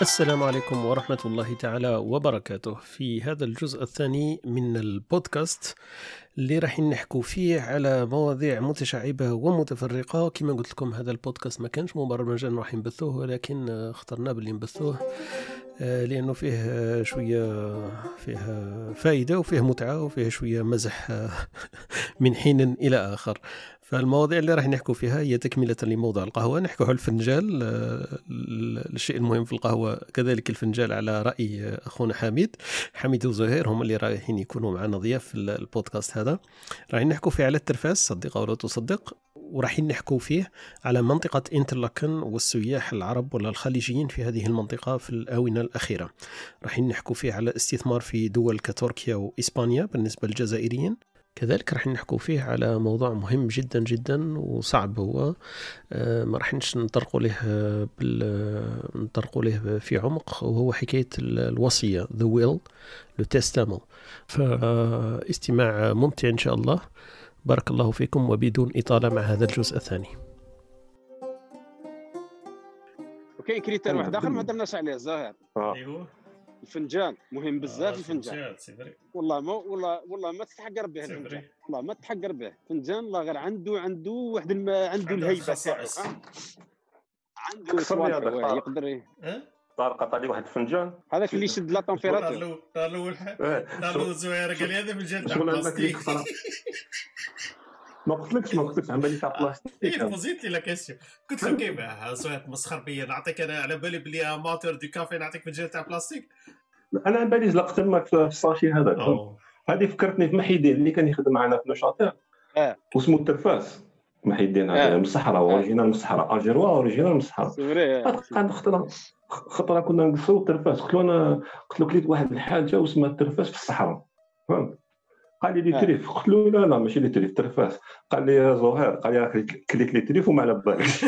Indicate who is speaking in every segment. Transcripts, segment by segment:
Speaker 1: السلام عليكم ورحمة الله تعالى وبركاته. في هذا الجزء الثاني من البودكاست اللي راح نحكوا فيه على مواضيع متشعبة ومتفرقة. كما قلت لكم هذا البودكاست ما كانش مبرمجا راح نبثوه، ولكن اخترنا باللي نبثوه لأنه فيه شوية فيه فائدة وفيه متعة وفيه شوية مزح من حين إلى آخر. فالمواضيع اللي راح نحكوا فيها هي تكملة لموضوع القهوة. نحكوا على الفنجال، الشيء المهم في القهوة كذلك الفنجال، على رأي أخونا حميد وزهير، هم اللي رايحين يكونوا معنا ضياف في البودكاست هذا. راح نحكوا فيه على الترفاس، صدق أو لا تصدق، وراح نحكوا فيه على منطقة إنترلاكن والسياح العرب ولا الخليجيين في هذه المنطقة في الآونة الأخيرة. راح نحكوا فيه على الاستثمار في دول كتركيا وإسبانيا بالنسبة للجزائريين. كذلك راح نحكوا فيه على موضوع مهم جدا جدا وصعب، هو ما راح نطرقوا له في عمق، وهو حكاية الوصية the will le testament. فاستماع ممتع إن شاء الله. بارك الله فيكم، وبدون إطالة مع هذا الجزء الثاني.
Speaker 2: اوكي، كريتير واحد اخر ما درناش عليه الزهير.
Speaker 1: ايوه،
Speaker 2: الفنجان مهم بزاف. الفنجان والله ما تتحقر به الفنجان، والله ما تتحقر به. فنجان الله غير عنده واحد عنده الهيبه تاعو، عنده صوالح يقدر
Speaker 3: طارق عطاني واحد الفنجان
Speaker 2: هذاك اللي يشد لا طمبيراتور.
Speaker 4: قالوا زوير قال لي هذا فنجان تاع بلاستيك.
Speaker 3: ما قلتلكش عمالي تاع بلاستيك.
Speaker 4: ايه فوزيت لي لا كيسيون، قلت له كيف زوير مسخر بيا، نعطيك انا على بالي بلي اماتور دو كافي نعطيك فنجان تاع بلاستيك.
Speaker 3: انا على بالي زلقت تماك في الساشي هذاك. هذه فكرتني في محيدين اللي كان يخدم معنا في نشاطير واسمه الترفاس. محيدين هذا من الصحراء، اوريجينال من الصحراء، الجيروا اوريجينال من الصحراء. قعد خطره كنا نقصوا الترفاس، قلت له كليت واحد الحاجه واسمها الترفاس في الصحراء، فهمت؟ قال لي تريف. قلت له لا ماشي لي تريف، ترفاس. قال لي يا زهير، قال لي كليت لي تريف وما على بالكش.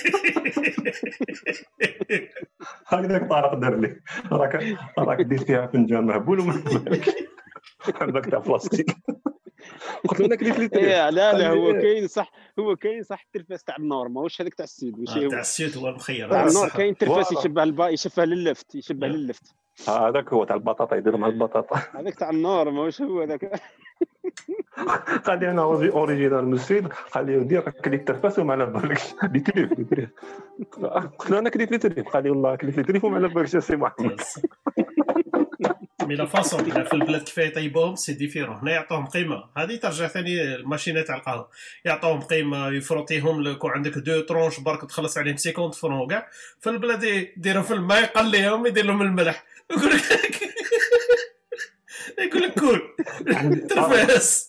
Speaker 3: هكذاك طارق دار لي، راك دير فيها فنجان مهبول وما على بالكش، عندك تاع بلاستيك. قلت له انا كليت لي تريف.
Speaker 2: لا هو كاين صح الترفاس تاع النور، ماهوش هذاك تاع السيد. ماشي
Speaker 4: تاع السيد هو المخير
Speaker 2: تاع النور. كاين ترفاس يشبه لللفت.
Speaker 3: هذاك هو تاع البطاطا، يديروا مع البطاطا.
Speaker 2: هذاك تاع النور ماهوش هو هذاك.
Speaker 3: قال لي انا اوريجينال من السويد. قال لي دير كليت ترفاس وما على بالكش لي تريف. قلت له انا كليت لي تريف. قال لي والله كليت لي تريف وما على بالكش يا سي محمد.
Speaker 4: مي لا فاصون في البلاد كيف يطيبوهم سي ديفيرون. هنا يعطوهم قيمه، هذه ترجع ثاني الماشينه تاع القهوه، يعطوهم قيمه، يفروتيهم لك وعندك دو ترونش برك تخلص عليهم 50 فرون كاع. في البلاد يديروا في الماء، يقليهم، يدير لهم الملح، يقول لك كول ترفاس.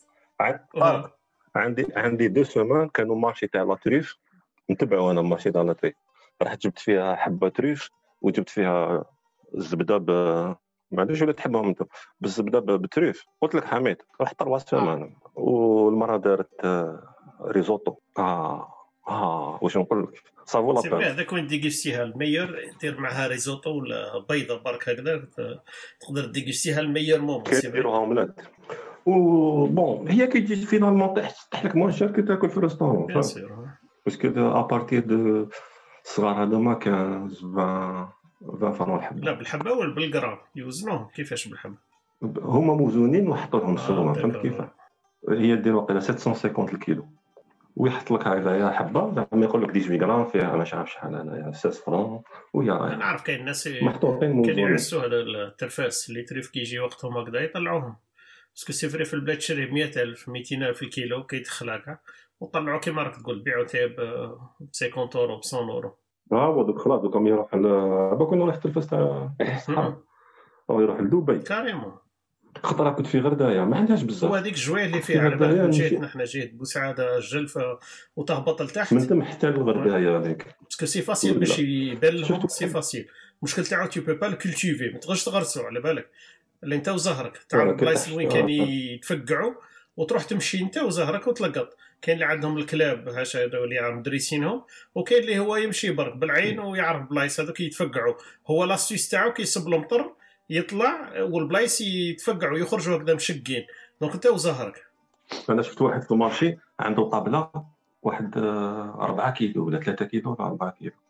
Speaker 3: عندي 2 سيمان كانوا مارشي تاع لا تريف، نتبعوا انا مارشي تاع لا تريف. رحت جبت فيها حبه تريف وجبت فيها الزبده ما عنديش ولا تحبهم انت بالزبده بتريف. قلت لك حميد رحت 3 سيمان والمره دارت ريزوتو. واش نقول لك صافو لا
Speaker 4: بال هذاك وين ديغيستيها المير، دير معها ريزوتو ولا بيضه برك هكذا، تقدر ديغيستيها المير مومون.
Speaker 3: كيديروها اومليت بون هي كي تجي فينالمون طيح لك موان شير كي تاكل في الريستورون، باسكو ابارتير دو صغار هذوما 15 20 فرون الحبه.
Speaker 4: لا بالحبه ولا بالغرام يوزنوهم؟ كيفاش بالحبه؟
Speaker 3: هما موزونين وحطوا لهم السومه، فهمت كيف؟ هي دير وقيله 750 الكيلو ويحط لك هكذا حبه، زعما يقول لك 18 غرام فيها مش عارف شحال هنايا 6 فرون. ويا
Speaker 4: انا عارف كاين الناس
Speaker 3: محطوطين
Speaker 4: كانوا يعسوا على الترفاس اللي تريف كيجي وقتهم هكذا يطلعوهم، باسكو سي فري في البلاد تشري 100,000 200,000 الكيلو كيدخلها كاع وطلعوا كيما راك تقول بيعوا تاع ب 50 اورو ب 100 اورو.
Speaker 3: دوك خلاص دوكم يروح كنا نروح التلفاز تاع الصحراء او يروح لدبي
Speaker 4: كاريمون.
Speaker 3: خطره كنت في غردايه ما عندهاش بزاف.
Speaker 4: وهذيك جويه اللي فيها على بالك جيتنا حنا جيت بوسعاده الجلفه وتهبط لتحت
Speaker 3: من تم حتى للغردايه هذيك،
Speaker 4: باسكو سي فاسيل باش يبان لهم، سي فاسيل. المشكل تاعو تو بو با كولتيفي، ما تقدرش تغرسو على بالك اللي انت وزهرك تعرف بلايص وين كان يتفقعوا وتروح تمشي انت وزهرك وتلقط. كاين اللي عندهم الكلاب هاشا اللي مدرسينهم، وكاين اللي هو يمشي برك بالعين ويعرف بلايص هذوك يتفقعوا. هو لاستيس تاعو كيصب المطر يطلع والبلايص يتفقعوا يخرجوا هكذا مشقين، دونك انت وزهرك.
Speaker 3: انا شفت واحد في المارشي عنده طابله واحد 4 كيلو ولا 3 كيلو ولا 4 كيلو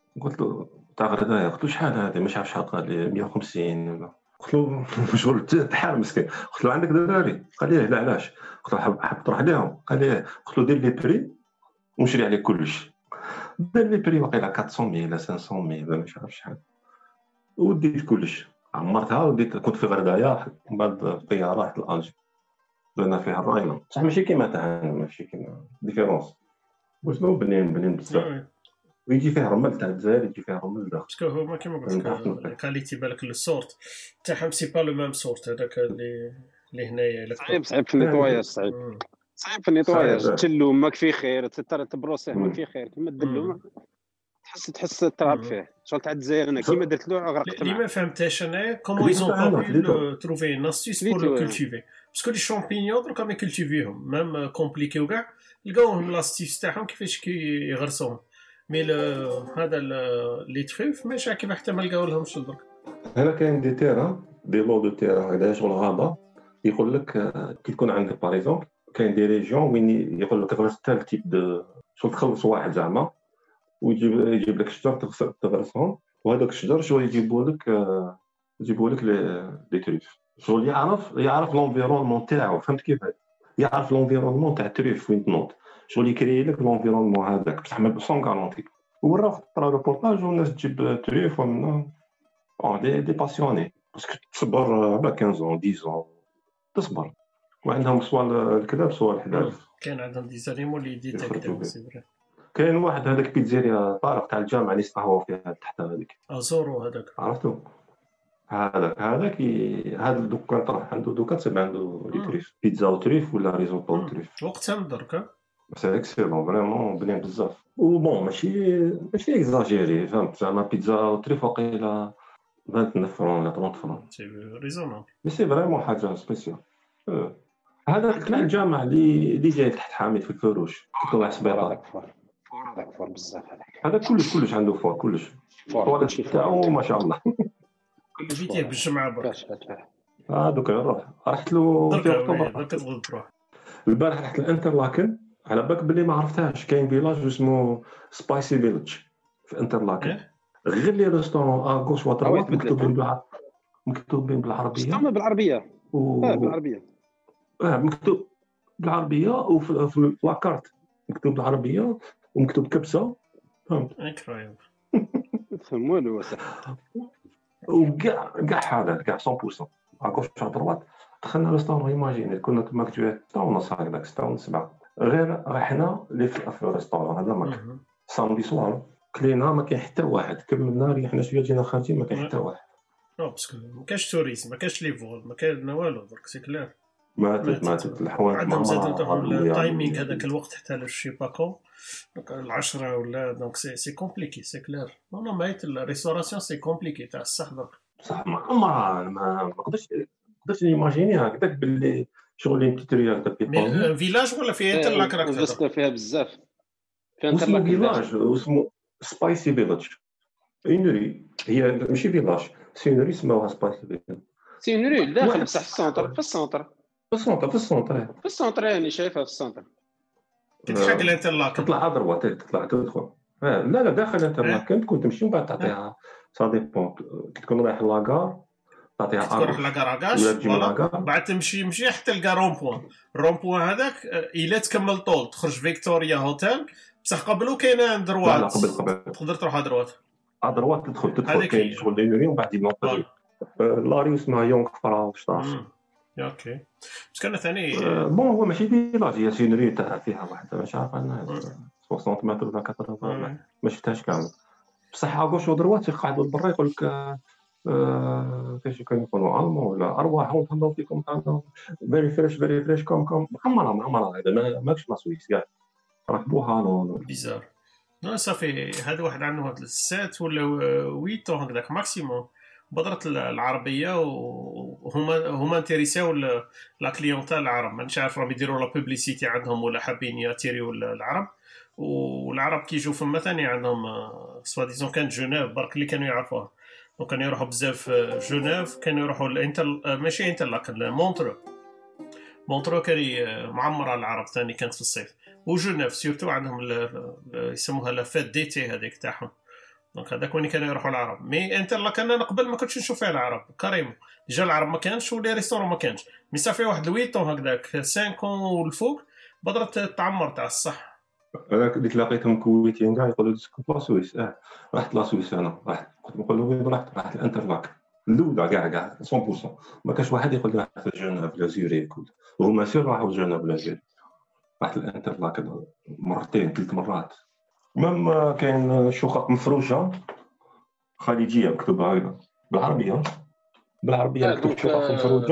Speaker 3: قلت له تاع غردايه، قلت له شحال هذه؟ مش عارف شحال، قال لي 150 ولا. قلت له شغل تحال مسكين. قلت له عندك دراري؟ قال لي لا علاش؟ قلت له حاب تروح لهم؟ قال لي. قلت له دير لي بري ونشري عليه كلش. دار لي بري واقيلا 400 ولا 500 ولا مش عارف شحال، وديت كلش عمرتها وديت. كنت في غردايه، من بعد الطياره رحت لالجي درنا فيها الراينه، صح ماشي كيما تاع ماشي كيما ديفيرونس، وشنو بنين بزاف. ويجي فيها رمل تاع الجزائر، يجي فيها رمل داخل.
Speaker 4: باسكو هما كيما قلت لك الكاليتي بالك لو سورت تاعهم سي با لو ميم سورت هذاك اللي هنايا.
Speaker 2: صعيب في النيطواياج، صعيب في النيطواياج. تشلو ماك في خير، تبروسيه ماك في خير، كيما دلو تحس تراب فيه. شغل تاع الجزائر انا كيما درت له غرقت معاه.
Speaker 4: اللي ما فهمتهاش انا كومون ايزون با تروفي ان استيس بور لو كولتيفي، باسكو لي شامبينيون دركا ما كولتيفيهم ميم كومبليكيو كاع، لقاوهم لاستيس تاعهم كيفاش كيغرسوهم. مي هذا لي تريف ماشي كيما حتى ما لقاو لهمش درك.
Speaker 3: هنا كاين دي تيران دي لو دو تيران هذا شغل غابه، يقول لك كي تكون عندك باغ اكزومبل كاين دي ريجيون وين يقول لك غرس تال تيب دو شغل تخلص واحد زعما ويجيب لك شجر تغرسهم، وهذاك الشجر شغل يجيبوا لك لي تريف. شغل يعرف لونفيرونمون تاعو، فهمت كيف؟ يعرف لونفيرونمون تاع التريف وين تنوض، شغل يكري لك لونفيرونمون هذاك بصح ما سون غارونتي. وراه خطره ريبورتاج والناس تجيب تريف ومن دي باسيوني، باسكو تصبر على 15 10 تصبر، وعندهم سوا الكلاب سوا الحلال.
Speaker 4: كان عندهم دي زانيمو اللي ديتيكتيو سي فري.
Speaker 3: كاين واحد هذاك بيتزيريا طارق تاع الجامعه اللي يستقهوا فيها تحت هذيك
Speaker 4: ازورو هذاك
Speaker 3: عرفتو. هذاك هذا الدكان طرح عنده دوكان تسمى عنده لي تريف بيتزا وتريف ولا ريزوطو وتريف.
Speaker 4: وقتها درك
Speaker 3: سي اكسيلون فريمون بنين بزاف. وبون ماشي اكزاجيري، فهمت زعما بيتزا وتريف واقيلا 29 فرون ولا 30 فرون،
Speaker 4: سي ريزونابل.
Speaker 3: مي سي فريمون حاجه سبيسيال. هذا تاع الجامعه اللي جاي تحت حامد في الفروش طلع سبيطار
Speaker 2: هذاك فور بزاف.
Speaker 3: هذا كلش عنده فور كلش تاعو ما شاء الله.
Speaker 4: كل فيتيه بالجمعه برك
Speaker 3: دوك نروح رحت له في
Speaker 4: اكتوبر درك تروح.
Speaker 3: البارح رحت الانترلاكن، على بالك بلي ما عرفتهاش، كاين فيلاج اسمه سبايسي فيلج في انترلاكن. غير لي ريستورون غوش واتروات مكتوبين بالعربيه
Speaker 2: بالعربيه
Speaker 3: مكتوب بالعربيه وفي لاكارت مكتوب بالعربيه ومكتوب كبسه، فهمت؟
Speaker 4: انكرويبل
Speaker 2: فهم والو
Speaker 3: وكاع حاله كاع 100% غوش واتروات. دخلنا ريستورون ايماجيني كنا تما كتويا 6:30 هكذاك 6:07 غير رحنا لي في الريستورون هذا ماك سامدي سوار كلينا ما كاين حتى واحد، كملنا ريحنا شويه جينا خارجين ما كاين حتى واحد.
Speaker 4: باسكو ما كاينش توريزم، ما كاينش لي فول، ما كاين والو درك سي كلير.
Speaker 3: ماتت الحوانت
Speaker 4: عندهم زادوا التايمينغ هذاك الوقت حتى لشي باكو دونك 10 ولا دونك سي كومبليكي سي كلير. نو مايت الريستوراسيون سي كومبليكي تاع الصح درك
Speaker 3: صح. ما نقدرش نيماجيني هكذاك باللي شغل اللي تتريا هكذا
Speaker 4: في فيلاج ولا في انترلاك راك
Speaker 2: تهضر فيها بزاف.
Speaker 3: في انترلاك فيلاج اسمه سبايسي فيلاج اينري، هي ماشي فيلاج سينري اسمها سبايسي فيلاج.
Speaker 2: سينري داخل بصح في السونتر يعني شايفها في السونتر
Speaker 4: تتحق الانترلاك
Speaker 3: تطلع ادروات تدخل لا داخل الانترلاك كنت تمشي ومن بعد تعطيها سا ديبون كي تكون رايح لاكار تعطيها
Speaker 4: تروح لاكاراكاش بعد تمشي حتى الكارون بوان هذاك الا تكمل طول تخرج فيكتوريا هوتيل بصح قبلو كاينه دروات.
Speaker 3: لا قبل
Speaker 4: تقدر تروح ادروات
Speaker 3: تدخل كاين شغل دينوري ومن بعد ينوض لاري اسمها يونغ فرا شطاش.
Speaker 4: اوكي بس كان ثاني
Speaker 3: بون هو ماشي فيلاج هي سينري تاع فيها واحد مش عارف انا 60 متر ولا 80 ما شفتهاش كامل بصح هاكوش ودروات يقعدوا برا يقول لك كيفاش كانوا يقولوا المون ولا ارواحهم تهضروا فيكم تاع فيري فريش كوم معمره هذا ماكش لا سويس كاع ركبوها نو
Speaker 4: بيزار. نو صافي هذا واحد عنده 7 ولا 8 هكذاك ماكسيموم بدرت العربيه وهما انتريساو لا كليونتال العرب. مانيش عارف راهم يديروا لا بوبليسيتي عندهم ولا حابين ياتيريو العرب. والعرب كي يجوا فما ثاني عندهم سوا ديزون كانت جنيف برك اللي كانوا يعرفوها دونك كانوا يروحوا بزاف جنيف كانوا يروحوا ماشي لكن مونترو كان معمره العرب ثاني كانت في الصيف وجنيف سيرتو عندهم يسموها لا فات ديتي هذيك تاعهم دونك هذاك وين كانوا يروحوا العرب. مي انترلاك انا قبل ما كنتش نشوف فيها العرب كريم، ديجا العرب ما كانش ولي ريستورون ما كانش، مي صافي واحد 8 طون هكذاك 5 والفوق بدرت تعمر تاع الصح.
Speaker 3: انا اللي تلاقيتهم كويتيين كاع يقولوا لي سكن لا سويس. رحت لا سويس انا، كنت نقول لهم رحت الانترلاك الاولى كاع 100%. ما كانش واحد يقول لي رحت جنوب لا زوريك، وهما سير راحوا جنوب لا زوريك. رحت الانترلاك مرتين 3 مرات. مام كاين شقق مفروشه خليجيه مكتوبه هكذا بالعربيه مكتوب شقق مفروشه،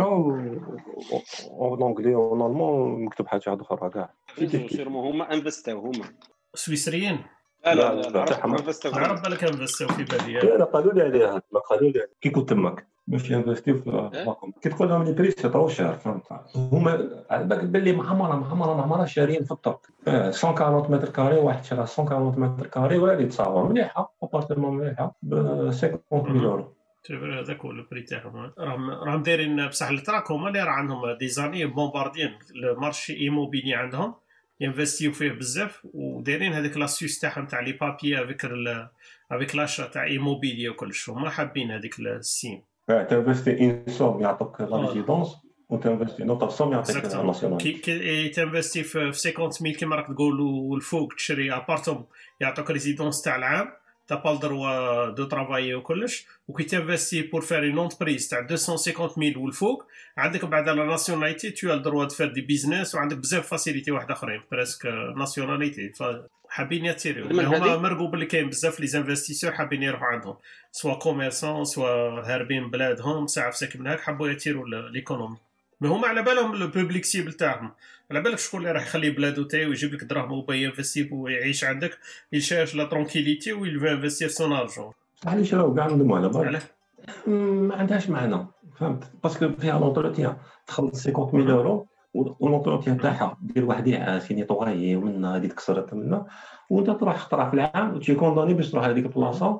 Speaker 3: ونونغلي ونورمال مكتوب حاجه اخرى كاع.
Speaker 2: هما انفستاو هما
Speaker 4: سويسريين.
Speaker 2: لا
Speaker 4: العرب بالك انفستاو في بالي.
Speaker 3: لا قالوا لي عليها، قالوا لي كي كنت تماك باش ينفستيو في الرقم. كي تقول لهم لي بري سي طرو شير، فهمت؟ هما على بالك باللي معمره شارين في الطرق 140 متر كاري، واحد شرا 140 متر كاري ولا يتصاور مليحه، ابارتمون مليحه ب 50,000 يورو.
Speaker 4: تبر هذاك هو البري تاعهم. راهم دايرين بصح التراك هما اللي راه عندهم ديزاني بومباردين المارشي ايموبيلي عندهم ينفستيو فيه بزاف، ودايرين هذيك لاسيوس تاعهم تاع لي بابي افيك لاشا تاع ايموبيلي وكلش. هما حابين هذيك السيم.
Speaker 3: تنفستي ان سوم يعطوك لا ريزيدونس، وتنفستي نوطه سوم يعطيك الناسيونال.
Speaker 4: كي تنفستي في 50,000 كيما راك تقولوا الفوق تشري ابارتوم يعطوك ريزيدونس تاع العام، t'as pas le droit de travailler وكلش. وكي تنفستي بور فير اون اونتربريز تاع 250,000 والفوق عندك بعد لا ناسيوناليتي تو ال دروا دو فير دي بيزنس، وعندك بزاف فاسيليتي واحد اخرين بريسك ناسيوناليتي. فحابين ياتيريو هما مرقوا باللي كاين بزاف لي انفستيسور حابين يروحوا عندهم سوا كوميرسون سوا هاربين بلادهم ساعه ساكن من هاك حبوا ياتيروا ليكونومي. مي هما على بالهم البوبليك سيبل تاعهم، على بالك شكون اللي راح يخلي بلادو تاعي ويجيب لك دراهم وباي ينفستي ويعيش عندك يشاش لا ترونكيليتي ويل انفستير سون ارجون.
Speaker 3: علاش راهو كاع نضموا على بالك ما عندهاش معنى، فهمت؟ باسكو فيها لونتروتيان تخلص 50,000 يورو ولونتروتيان تاعها دير واحد يعاس نيطوايي ومن هذيك كسرت منها، وانت تروح خطره في العام وتجي كوندوني باش تروح هذيك البلاصه.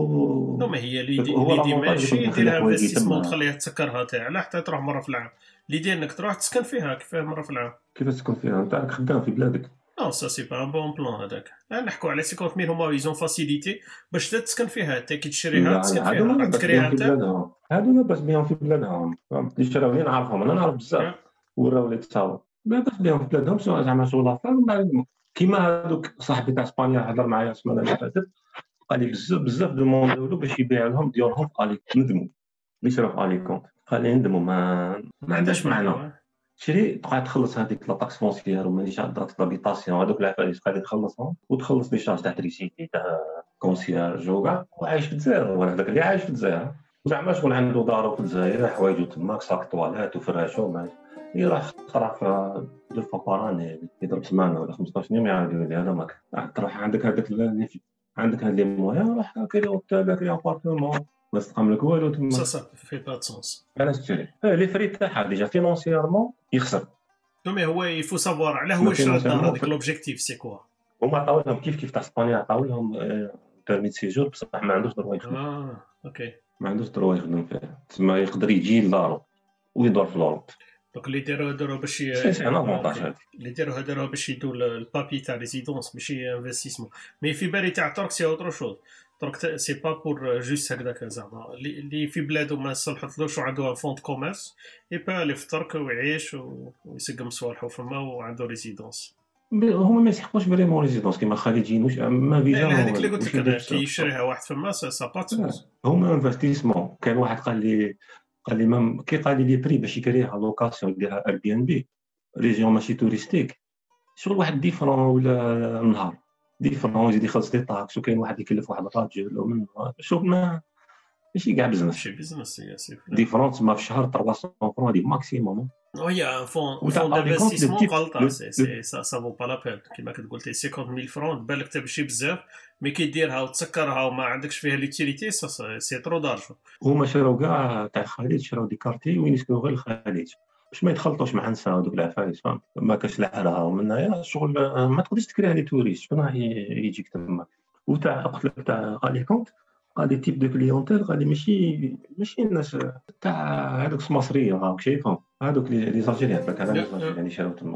Speaker 4: ما هي ليدي ماشي ديرها انفستيسمون تخليها تسكرها تاع لا حتى تروح مره في العام. ليدي انك تروح تسكن فيها كيفاه مره في العام.
Speaker 3: كيف تسكن فيها انت راك خدام في بلادك؟
Speaker 4: نو سا سي با ان بون بلان هذاك. نحكوا على 50,000 هما يزون فاسيليتي باش تسكن فيها حتى كي تشريها تسكن فيها تكريها انت.
Speaker 3: هادو لاباس بهم في بلادهم، فهمت؟ اللي شراوني نعرفهم، انا نعرف بزاف وراو لي تصاور لاباس بهم في بلادهم، سواء زعما شغل اخر كيما هذوك صاحبي تاع اسبانيا هضر معايا السمانه اللي فاتت قال لي بزاف دوموندو له باش يبيع لهم ديورهم في اليك ندموا اللي شراو في اليكونت. قال لي ندموا ما عندهاش معنى تشري تقعد تخلص هذيك لا طاكس فونسيير وماني شادات لابيتاسيون هذوك العفايس قاعد تخلصهم وتخلص لي شارج تاع تريسيتي تاع كونسييرج وكاع وعايش في الجزائر. ولا هذاك اللي عايش في الجزائر زعما شغل عنده دارو في الجزائر حوايجو تماك صاك طواليت وفراشو ما يروح خرا في دو فوا باراني يضرب سمانه ولا 15 يوم يعاود يقول لي هذا ماك تروح عندك هذاك عندك هاد لي مويان راح كيري اوتيل كيري ابارتمون ما تقام لك والو تما.
Speaker 4: سا في با سونس
Speaker 3: علاش تشري لي فري تاعها ديجا فينونسييرمون يخسر.
Speaker 4: مي هو يفو سافوار علاه هو شرا الدار هذاك لوبجيكتيف سي كوا.
Speaker 3: هما عطاو لهم كيف تاع اسبانيا عطاو لهم بيرمي سيجور بصح ما عندوش دروا يخدم.
Speaker 4: اوكي
Speaker 3: ما عندوش دروا يخدم فيه تما يقدر يجي لدارو ويدور في لوروب.
Speaker 4: دونك اللي داروا باش اللي داروا باش يدوا البابي تاع ريزيدونس ماشي انفستيسمون. مي في بالي تاع ترك سي اوتر شوز. ترك سي با بور جوست هكذاك زعما اللي في بلادو ما صلحتلوش وعنده فوند كوميرس يبقى اللي في ترك ويعيش ويسقم صوالحو فما وعنده ريزيدونس.
Speaker 3: هما ما يسحقوش فريمون ريزيدونس كيما خليجيين واش ما فيزا
Speaker 4: هذيك اللي قلت لك كي يشريها واحد فما سا با تسوس.
Speaker 3: هما انفستيسمون. كان واحد قال لي مام كي قال لي بري باش يكريها لوكاسيون يديرها اير بي ان بي ريجيون ماشي توريستيك شغل واحد ديفرون ولا نهار ديفرون يزيد يخلص لي طاكس وكاين واحد يكلف واحد الراجل ومن شوف ماشي كاع بزنس
Speaker 4: شي بزنس ياسر
Speaker 3: ديفرونس ما في الشهر 300 فرون هذه ماكسيموم.
Speaker 4: وهي فون دانفستيسمون غلطه سي سا فو با لا بين كيما كتقول 50,000 فرون بالك حتى بشي بزاف مي كي ديرها وتسكرها وما عندكش فيها ليوتيليتي سي ترو دارجو.
Speaker 3: هما شراو كاع تاع الخليج شراو دي كارتي وين يسكنوا غير الخليج باش ما يتخلطوش مع نساء هذوك العفايس فهمت. ما كاش لحالها ومنها شغل ما تقدرش تكريها لي توريست شكون راح يجيك تما. وتاع قلت لك تاع اليكونت قال لي تيب دو كليونتيل قال لي ماشي الناس تاع هذوك المصريين راك شايفهم هذوك لي زالجيريان فاك هذا يعني شراو تماك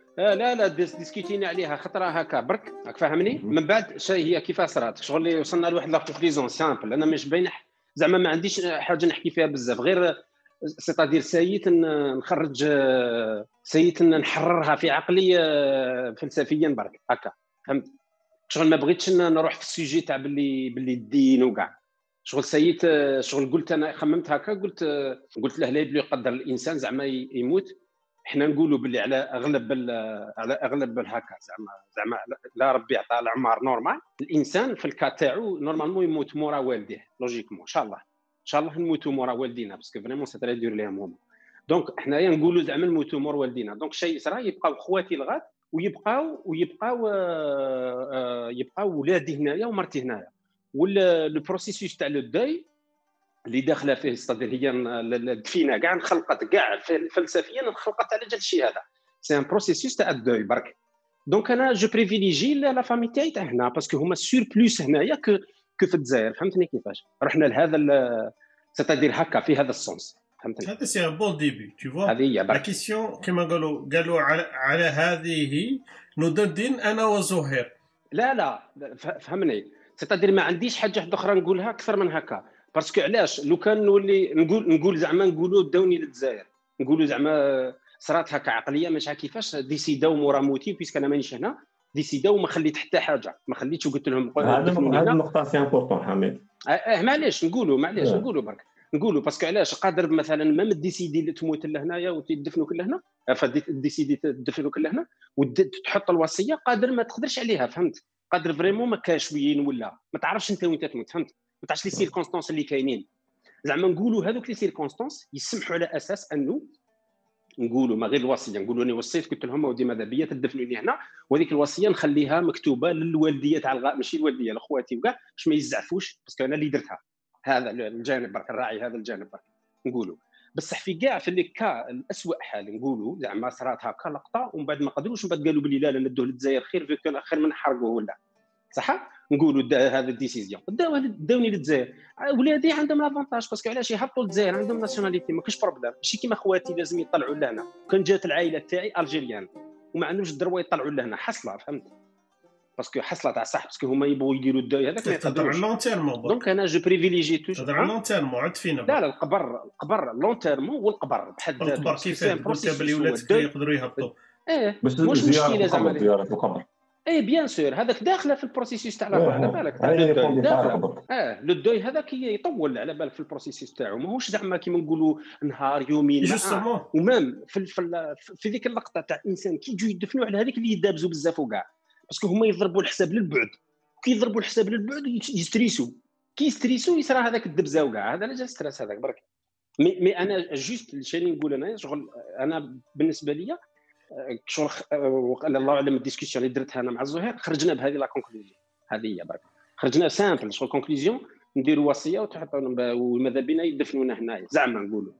Speaker 2: لا ديسكوتينا عليها خطره هكا برك، راك فاهمني؟ من بعد هي كيفاش صرات شغل اللي وصلنا لواحد لا كونكليزون سامبل. انا مش باين زعما ما عنديش حاجه نحكي فيها بزاف، غير سيتادير سيت نخرج سيت نحررها في عقلي فلسفيا برك هكا، فهمت؟ شغل ما بغيتش نروح في السوجي تاع باللي الدين وكاع. شغل سيت شغل قلت انا خممت هكا، قلت له لا يبلي يقدر الانسان زعما يموت. احنا نقولوا باللي على اغلب هكا زعما لا ربي يعطى العمر نورمال، الانسان في الكا تاعو نورمالمون يموت مورا والديه لوجيكمون. ان شاء الله نموتوا مورا والدينا باسكو فريمون سي تري دور ليهم هما. دونك حنايا نقولوا زعما نموتوا مور والدينا. دونك شيء صرا يبقاو خواتي الغاد ويبقاو ولادي هنايا ومرتي هنايا. لو بروسيسوس تاع لو دوي اللي داخله فيه استدير هي الدفينه كاع نخلقت كاع فلسفيا نخلقت على جال الشيء هذا. سي ان بروسيسوس تاع الدوي برك. دونك انا جو بريفيليجي لا فامي تاعي تاع هنا باسكو هما سور بلوس هنايا كو في الجزائر. فهمتني كيفاش رحنا لهذا ستادير هكا في هذا السونس. فهمتني؟
Speaker 4: هذا سي ان بون ديبي تو فوا.
Speaker 2: هذه هي
Speaker 4: لا كيسيون كيما قالوا على هذه ندون دين انا وزهير.
Speaker 2: لا فهمني، ستادير ما عنديش حاجه اخرى نقولها اكثر من هكا. باسكو علاش لو كان نولي نقول زعما نقولوا داوني للجزائر، نقولوا زعما صرات هكا عقليه مش كيفاش ديسيداو مورا موتي بيسك انا مانيش هنا، ديسيداو ما خليت حتى حاجه، ما خليتش وقلت لهم
Speaker 3: هذه النقطه سي امبورطون حميد.
Speaker 2: معليش نقولوا برك نقولوا باسكو علاش قادر مثلا ما ديسيدي تموت لهنايا وتدفنوا كل هنا، فديسيدي تدفنوا كل هنا وتحط الوصيه قادر ما تقدرش عليها. فهمت؟ قادر فريمون ما كاش وين ولا ما تعرفش انت وين تموت. فهمت؟ ما تعرفش لي سيركونستانس اللي كاينين. زعما نقولوا هذوك لي سيركونستانس يسمحوا على اساس انه نقولوا ما غير الوصيه، نقولوا انا وصيت قلت لهم ودي ماذا بيا تدفنوني هنا، وهذيك الوصيه نخليها مكتوبه للوالديه تاع ماشي الوالديه لاخواتي وكاع باش ما يزعفوش باسكو انا اللي درتها. هذا الجانب برك الراعي، هذا الجانب برك نقولوا. بصح في كاع في الكا الاسوء حال نقولوا زعما صرات هكا لقطه ومن بعد ما قدروش، من بعد قالوا بلي لا ندوه للجزائر خير من نحرقوه ولا صح. نقولوا هذا الديسيزيون داوني للجزائر، ولادي عندهم لافونتاج باسكو علاش يهبطوا للجزائر عندهم ناسيوناليتي ما كاش بروبليم، ماشي كيما خواتي لازم يطلعوا لهنا. كان جات العائله تاعي الجيريان وما عندهمش الدروه يطلعوا لهنا حصله. فهمت؟ باسكو حصله تاع صح باسكو هما يبغوا يديروا الداي هذاك ما يقدروش. دونك انا جو بريفيليجي توجور
Speaker 4: تهضر على لون تيرمون عاد فينا.
Speaker 2: لا القبر لون تيرمون والقبر بحد ذاته.
Speaker 4: القبر كيفاه قلت بلي ولادك يقدروا يهبطوا
Speaker 2: مش مشكله زعما
Speaker 3: زياره القبر.
Speaker 2: بيان سور هذاك داخله في البروسيسوس تاع لا على بالك تاع داخله. لو دوي هذاك يطول على بالك في البروسيسوس تاعو، ماهوش زعما كيما نقولوا نهار يومين. ومام في ذيك اللقطه تاع الانسان كي يجوا يدفنوا على هذيك اللي يدابزوا بزاف وكاع باسكو هما يضربوا الحساب للبعد، كي يضربوا الحساب للبعد يستريسوا، كي يستريسوا يصرى هذاك الدبزه وكاع. هذا لا جا ستريس هذاك برك. مي انا جوست شنو نقول انا شغل انا بالنسبه لي شغل الله اعلم الديسكسيون اللي درتها انا مع الزهير خرجنا بهذه لا كونكلوزيون. هذه هي برك خرجنا سامبل شغل كونكلوزيون نديروا وصيه وتحطوا وماذا بينا يدفنونا هنايا زعما نقولوا.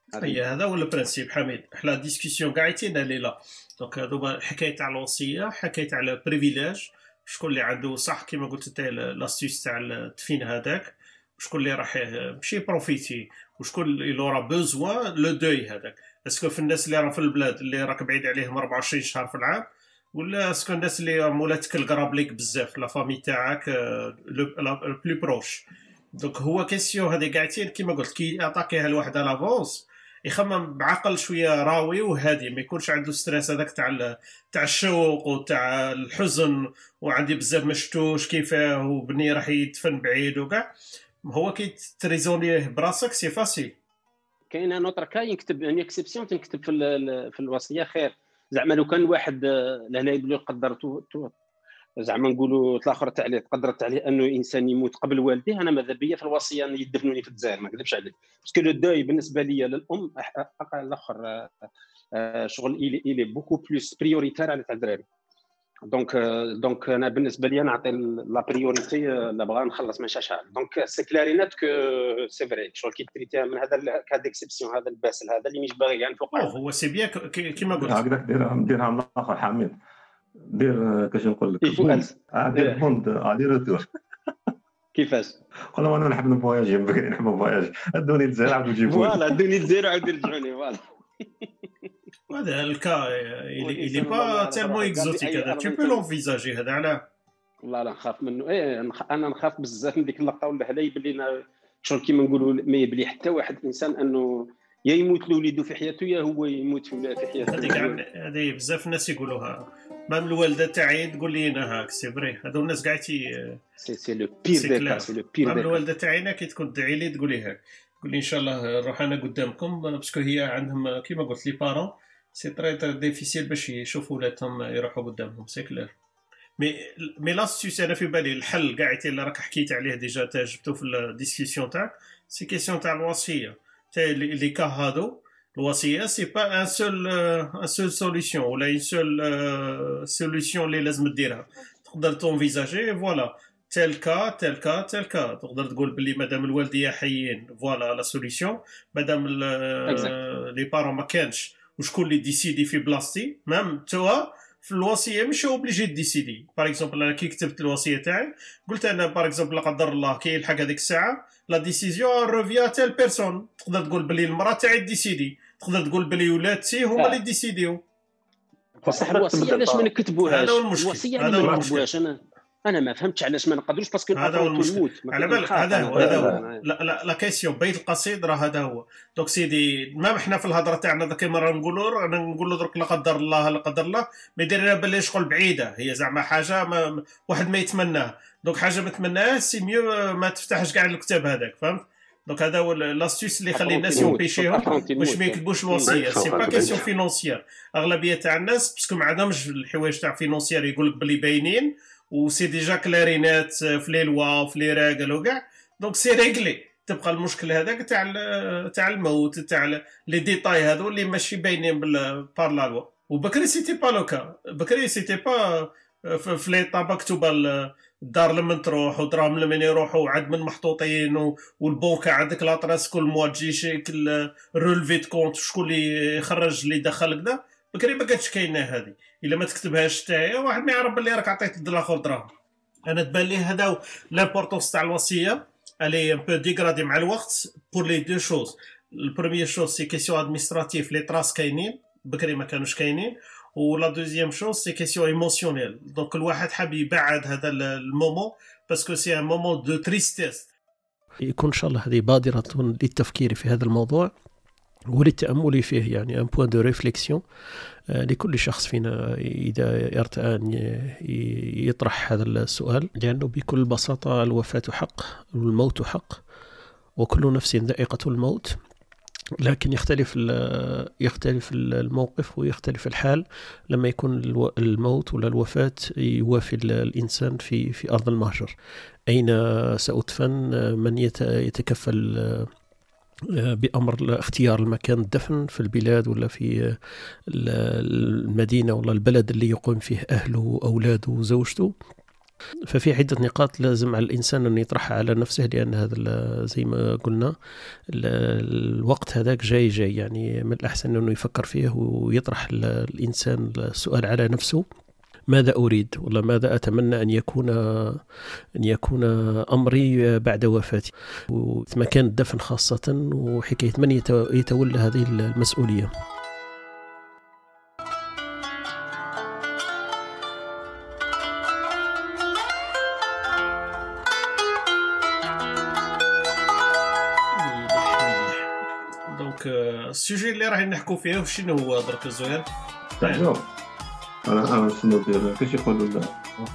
Speaker 4: هذا هو البرانسيب حميد. حنا ديسكسيون قاعدين ليله دونك دوبا حكايه تاع الوصيه، حكايه على بريفيليج، شكون اللي عنده صح كيما قلت انت لاستيس تاع التدفين هذاك، وشكون اللي راح ماشي بروفيتي، وشكون اللي لورا بوزوا لو دوي هذاك. اسكو في الناس اللي راه في البلاد اللي راك بعيد عليهم 24 شهر في العام، ولا اسكو الناس اللي مولاتك القراب ليك بزاف لا فامي تاعك لو بلو بروش. دونك هو كيسيون هذه قاعدين كيما قلت كي يعطيها لواحد لافونس يخمم بعقل شويه راوي وهادي، ما يكونش عنده ستريس هذاك تاع الشوق وتاع الحزن وعندي بزاف ما شفتوش كيفاه وبني راح يدفن بعيد وكاع. هو كي تريزونيه براسك سي فاسيل.
Speaker 2: كاين نوتر كا يكتب ان اكسبسيون تنكتب في الوصيه خير. زعما لو كان واحد لهنا يقولوا قدرته زعما نقولوا الاخر تاع عليه قدرت عليه انه انسان يموت قبل والديه، انا ماذا بيا في الوصيه يدفنوني في الجزائر ما نكذبش عليك باسكو لو دوي بالنسبه لي للام الاخر شغل الي بوكو بلوس بريوريتير على تاع الدراري. دونك انا بالنسبه لي نعطي لا بريوريتي لا بغا نخلص من شاشة. دونك سي كلارينات كو سي فري شغل كي تريتيها من هذا كاد اكسبسيون هذا الباسل هذا اللي مش باغي كاع نفوق.
Speaker 4: هو سي بيان كيما قلت
Speaker 3: هكذاك ديرها من الاخر حميد، دير كاش نقول لك دير بوند دير روتور.
Speaker 2: كيفاش؟
Speaker 3: قول انا نحب نفواياجي بكري نحب نفواياجي ادوني الجزائر عاودوا جيبوني
Speaker 2: فوالا ادوني الجزائر عاودوا يرجعوني فوالا.
Speaker 4: هذا الكا il est pas tellement exotique هذا tu peux l'envisager هذا علاه
Speaker 2: والله لا نخاف منه. انا نخاف بزاف من ديك اللقطه ولا هلا يبلينا شغل كيما نقولوا ما يبلي حتى واحد انسان انه يا يموت لوليدو في حياته يا هو يموت في حياته.
Speaker 4: هذه بزاف الناس يقولوها، مام الوالده تاعي تقول لي انا هاك سي فري. هذو الناس كاع
Speaker 2: سي لو بير دي كاس، سي لو بير.
Speaker 4: مام الوالده تاعينا كي تكون تدعي لي تقول لي هاك، تقول لي ان شاء الله نروح انا قدامكم باسكو هي عندهم كيما قلت لي بارون سي تري ديفيسيل باش يشوفوا ولادهم يروحوا قدامهم. سي كلير مي لاستيوس انا في بالي الحل كاع اللي راك حكيت عليه ديجا تا جبتو في الديسكسيون تاعك. سي كيسيون تاع الوصيه تاع لي كا هادو. الوصيه سي با ان سول سوليوشن ولا اون سول سوليوشن اللي لازم ديرها. تقدر تونفيزاجي فوالا تيل كا تقدر تقول بلي مادام الوالديه حيين فوالا لا سوليوشن. مادام لي بارون ما كانش وشكون اللي ديسيدي في بلاصتي مام توا في الوصيه مش اوبليجي ديسيدي. باغ اكزومبل انا كي كتبت الوصيه تاعي قلت انا باغ اكزومبل لا قدر الله كي يلحق هذيك الساعه لا ديسيزيون روفيا تيل بيرسون. تقدر تقول بلي المراه تاعي ديسيدي، تقدر تقول بلي ولادتي هما اللي ديسيديو.
Speaker 2: بصح الوصيه علاش ما نكتبوهاش؟ الوصيه علاش ما نكتبوهاش؟ انا ما فهمتش علاش ما نقدروش باسكو
Speaker 4: هذا هو المشكل. على بالك هذا هو لا كيسيون بيت القصيد راه هذا هو. دونك سيدي ما احنا في الهضره تاعنا ذاك مره نقولوا درك لا قدر الله ما يدير باللي شغل بعيده هي زعما حاجه واحد ما يتمناه. دونك حاجه ما تمناهاش سي ميو ما تفتحش كاع الكتاب هذاك فهمت. دونك هذا هو لاستيوس اللي يخلي الناس يمبيشيهم باش ما يكتبوش الوصيه. سي با كيسيون فينونسيير. اغلبيه تاع الناس باسكو ما عندهمش الحوايج تاع فينونسيير يقول لك بلي باينين وسي ديجا كلارينات في لي لوا وفي لي راغل وكاع. دونك سي ريغلي. تبقى المشكل هذاك تاع الموت تاع لي ديتاي هذو اللي ماشي باينين بار لا لوا. وبكري سيتي با لوكا. بكري سيتي با في لي طابا مكتوبه الدار لما تروح ودراهم لما يروحوا عاد من محطوطين والبنك عندك لاطراس كل موا تجي شكل رولفي كونت شكون اللي يخرج اللي دخل كذا. بكري ما كانتش كاينه هذه. الا ما تكتبهاش حتى واحد ما يعرف بلي راك عطيت الاخر دراهم. انا تبان لي هذا لامبورطونس تاع الوصيه الي ان بو ديغرادي مع الوقت بور لي دو شوز. البروميير شوز سي كيسيون ادمينستراتيف لي تراس كاينين بكري ما كانوش كاينين. ولا دوزيام شوز سي كيسيون ايموسيونيل. دونك الواحد حاب يبعد هذا المومون باسكو سي ان مومون دو تريستيس.
Speaker 1: يكون ان شاء الله هذه بادره للتفكير في هذا الموضوع وللتأمل فيه، يعني ان بوين دو ريفليكسيون لكل شخص فينا إذا ارتأى أن يطرح هذا السؤال، لأنه بكل بساطة الوفاة حق والموت حق وكل نفس ذائقة الموت. لكن يختلف الموقف ويختلف الحال لما يكون الموت ولا الوفاة يوافي الإنسان في أرض المهجر. أين سأدفن؟ من يتكفل بأمر اختيار المكان الدفن في البلاد ولا في المدينة ولا البلد اللي يقوم فيه أهله وأولاده وزوجته؟ ففي عدة نقاط لازم على الإنسان أن يطرحها على نفسه، لأن هذا زي ما قلنا الوقت هذاك جاي يعني من الأحسن أنه يفكر فيه ويطرح الإنسان السؤال على نفسه: ماذا أريد والله ماذا أتمنى أن يكون أمري بعد وفاتي، ومكان الدفن خاصة، وحكاية من يتولى هذه المسؤولية.
Speaker 4: دونك السوجي اللي راح نحكوا فيه شنو هو درك زهير؟
Speaker 3: انا شنو ندير كيفاش يقولوا لا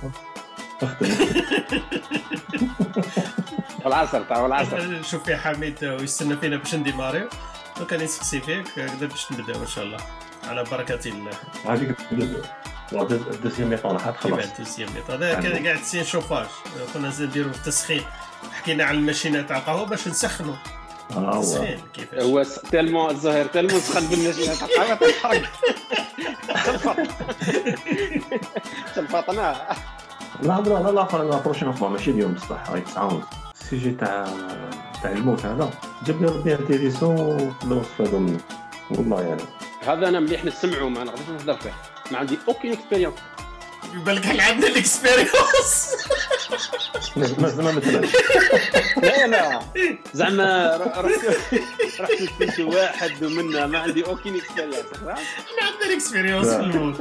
Speaker 2: العصر
Speaker 4: شوف يا حميد ويستنى فينا باش نديماريو. دونك انا نسقسي فيك كذا باش نبداو ان شاء الله على بركه الله.
Speaker 3: هذيك الدوسيام ميطون راح تخلص.
Speaker 4: الدوسيام ميطون هذا كان قاعد تسين شوفاج. كنا نديروا التسخين، حكينا على الماشينه تاع القهوه باش نسخنوا التسخين كيفاش.
Speaker 2: هو تالمو الزهير تالمو سخن بالماشينه تاع القهوه تحرق تلفطنا.
Speaker 3: لا بروشين فوا ماشي اليوم بصح راهي تعاون السيجي تاع الموت هذا جابني ربي انتيريسون نستفادوا منه والله. يعني
Speaker 2: هذا انا مليح نسمعه ما نقدرش نهضر فيه، ما عندي اوكين اكسبيريونس.
Speaker 4: بالك حنا عندنا الاكسبيريونس
Speaker 3: مثلا
Speaker 2: لا زعما رحت لقيت واحد ومنا ما عندي اوكين اكسبيريونس.
Speaker 4: احنا عندنا اكسبيريونس في الموت.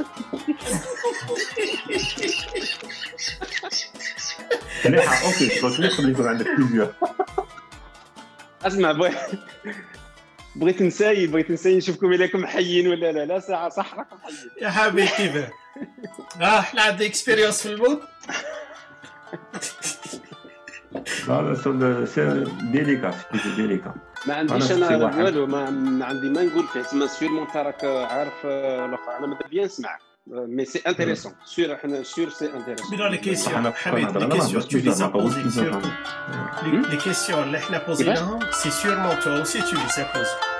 Speaker 3: مليحه اوكي قلت لك يكون عندك بليزيور.
Speaker 2: اسمع بغيت نساي نشوفكم إليكم حيين ولا لا ساعه صح راكم حيين
Speaker 4: يا حبيبي كيفاه. احنا عندنا اكسبيريونس في الموت.
Speaker 3: لا سي ديليكا
Speaker 2: ما عنديش انا والو ما عندي ما نقول فيه تما سيرمون راك عارف الاخر انا ماذا بيان نسمع مي سي انتريسون سير احنا سير سي انتريسون.
Speaker 4: بلا لي كيسيون حبيبي لي كيسيون tu les as posées les questions اللي احنا بوزيناهم سي سيرمون toi aussi tu les as posées.